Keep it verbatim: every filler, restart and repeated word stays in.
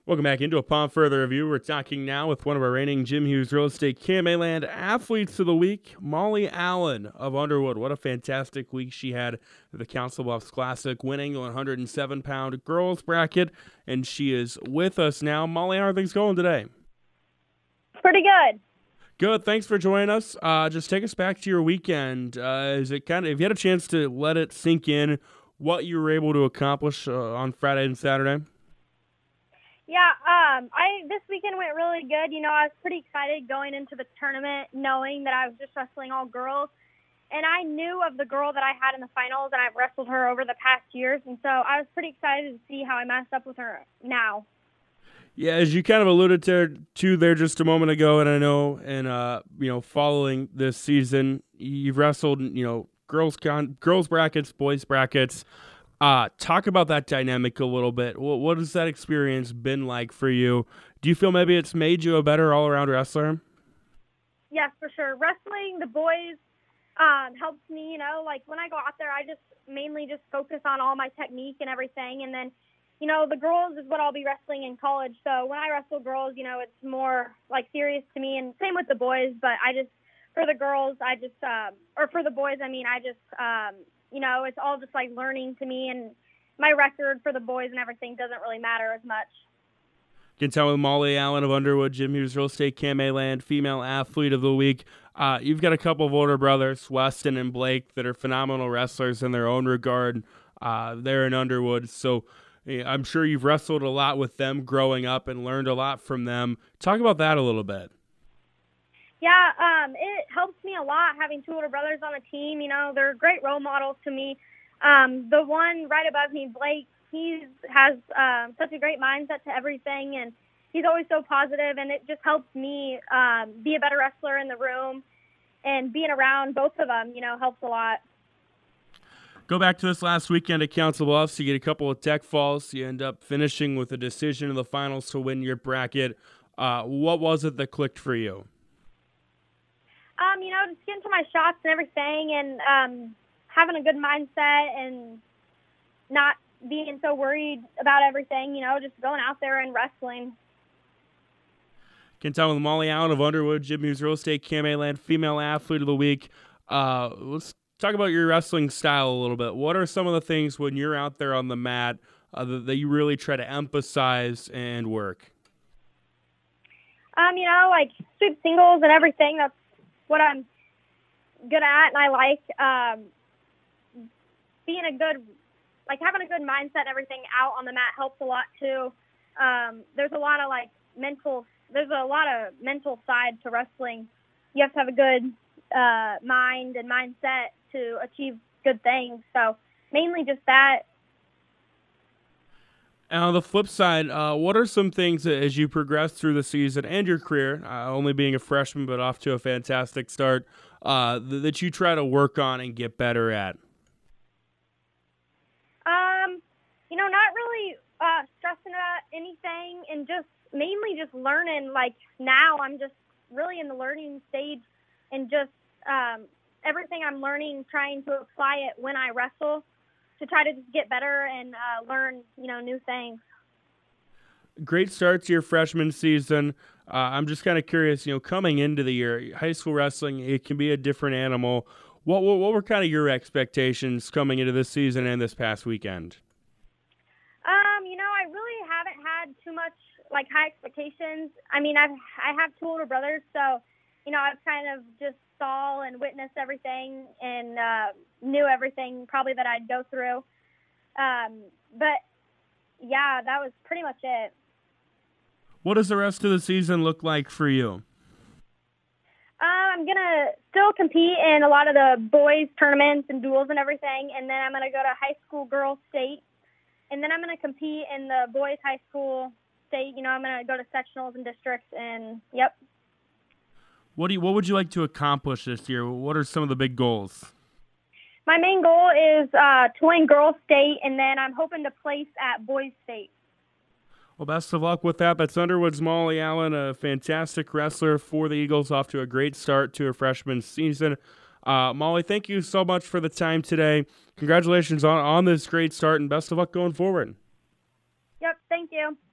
Welcome back into Upon Further Review. We're talking now with one of our reigning Jim Hughes Real Estate K M A Land Athletes of the Week, Molly Allen of Underwood. What a fantastic week she had at the Council Bluffs Classic, winning the one hundred seven pound girls bracket, and she is with us now. Molly, how are things going today? Pretty good. Good. Thanks for joining us. Uh, just take us back to your weekend. Uh, is it kind of, if you had a chance to let it sink in, what you were able to accomplish uh, on Friday and Saturday? Yeah, um, I this weekend went really good. You know, I was pretty excited going into the tournament, knowing that I was just wrestling all girls. And I knew of the girl that I had in the finals, and I've wrestled her over the past years. And so I was pretty excited to see how I matched up with her now. Yeah, as you kind of alluded to, to there just a moment ago, and I know, and uh, you know, following this season, you've wrestled, you know, girls con- girls brackets, boys brackets. Uh, talk about that dynamic a little bit. What, what has that experience been like for you? Do you feel maybe it's made you a better all-around wrestler? Yes, for sure. Wrestling the boys um, helps me, you know, like when I go out there, I just mainly just focus on all my technique and everything. And then, you know, the girls is what I'll be wrestling in college. So when I wrestle girls, you know, it's more like serious to me, and same with the boys. But I just, for the girls, I just, um, or for the boys, I mean, I just, um, you know, it's all just like learning to me, and my record for the boys and everything doesn't really matter as much. You can tell with Molly Allen of Underwood, Jim Hughes Real Estate K M A Land Female Athlete of the Week. Uh, you've got a couple of older brothers, Weston and Blake, that are phenomenal wrestlers in their own regard. Uh, they're in Underwood, so I'm sure you've wrestled a lot with them growing up and learned a lot from them. Talk about that a little bit. Yeah, um, it helps me a lot having two older brothers on the team. You know, they're great role models to me. Um, the one right above me, Blake, he has um, such a great mindset to everything, and he's always so positive, and it just helps me um, be a better wrestler in the room, and being around both of them, you know, helps a lot. Go back to this last weekend at Council Bluffs. You get a couple of tech falls. You end up finishing with a decision in the finals to win your bracket. Uh, what was it that clicked for you? Um, you know, just getting to my shots and everything, and um, having a good mindset and not being so worried about everything, you know, just going out there and wrestling. Can tell with Molly Allen of Underwood, Jim Hughes Real Estate K M A Land Female Athlete of the Week. Uh, let's talk about your wrestling style a little bit. What are some of the things when you're out there on the mat uh, that, that you really try to emphasize and work? Um, you know, like sweep singles and everything. That's what I'm good at, and I like um, being a good, like having a good mindset and everything out on the mat helps a lot too. Um, there's a lot of like mental, there's a lot of mental side to wrestling. You have to have a good uh, mind and mindset to achieve good things. So mainly just that. And on the flip side, uh, what are some things that, as you progress through the season and your career, uh, only being a freshman but off to a fantastic start, uh, th- that you try to work on and get better at? Um, you know, not really uh, stressing about anything, and just mainly just learning. Like now, I'm just really in the learning stage, and just um, everything I'm learning, trying to apply it when I wrestle, to try to just get better and uh, learn, you know, new things. Great start to your freshman season. Uh, I'm just kind of curious, you know, coming into the year, high school wrestling, it can be a different animal. What, what what were kind of your expectations coming into this season and this past weekend? Um, you know, I really haven't had too much like high expectations. I mean, I've I have two older brothers, so you know, I've kind of just saw and witnessed everything, and uh, knew everything probably that I'd go through. Um, but yeah, that was pretty much it. What does the rest of the season look like for you? Uh, I'm gonna still compete in a lot of the boys tournaments and duels and everything, and then I'm gonna go to high school girls state, and then I'm gonna compete in the boys high school state. You know, I'm gonna go to sectionals and districts, and yep. What do you, what would you like to accomplish this year? What are some of the big goals? My main goal is uh, to win girls state, and then I'm hoping to place at boys state. Well, best of luck with that. That's Underwood's Molly Allen, a fantastic wrestler for the Eagles, off to a great start to her freshman season. Uh, Molly, thank you so much for the time today. Congratulations on, on this great start, and best of luck going forward. Yep, thank you.